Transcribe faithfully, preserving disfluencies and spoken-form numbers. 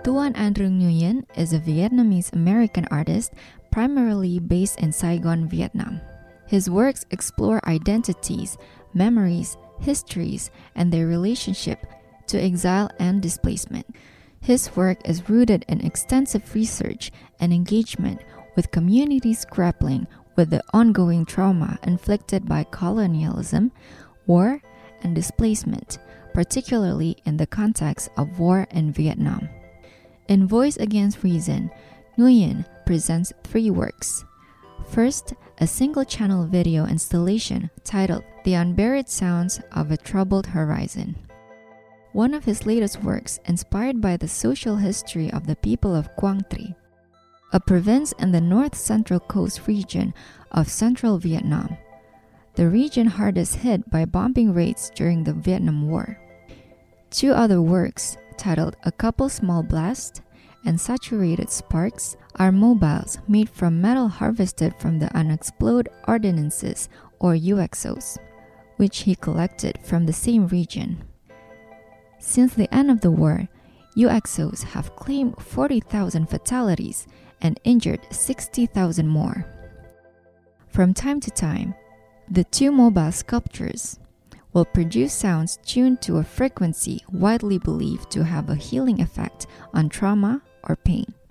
Tuan Andrew Nguyen is a Vietnamese-American artist primarily based in Saigon, Vietnam. His works explore identities, memories, histories, and their relationship to exile and displacement. His work is rooted in extensive research and engagement with communities grappling with the ongoing trauma inflicted by colonialism, war, and displacement, particularly in the context of war in Vietnam. In Voice Against Reason, Nguyen presents three works. First, a single-channel video installation titled The Unburied Sounds of a Troubled Horizon. One of his latest works inspired by the social history of the people of Quang Tri, a province in the north-central coast region of central Vietnam, the region hardest hit by bombing raids during the Vietnam War. Two other works, titled A Couple Small Blasts and Saturated Sparks, are mobiles made from metal harvested from the unexploded ordnances, or U X Os, which he collected from the same region. Since the end of the war, U X Os have claimed forty thousand fatalities and injured sixty thousand more. From time to time, the two mobile sculptures will produce sounds tuned to a frequency widely believed to have a healing effect on trauma or pain.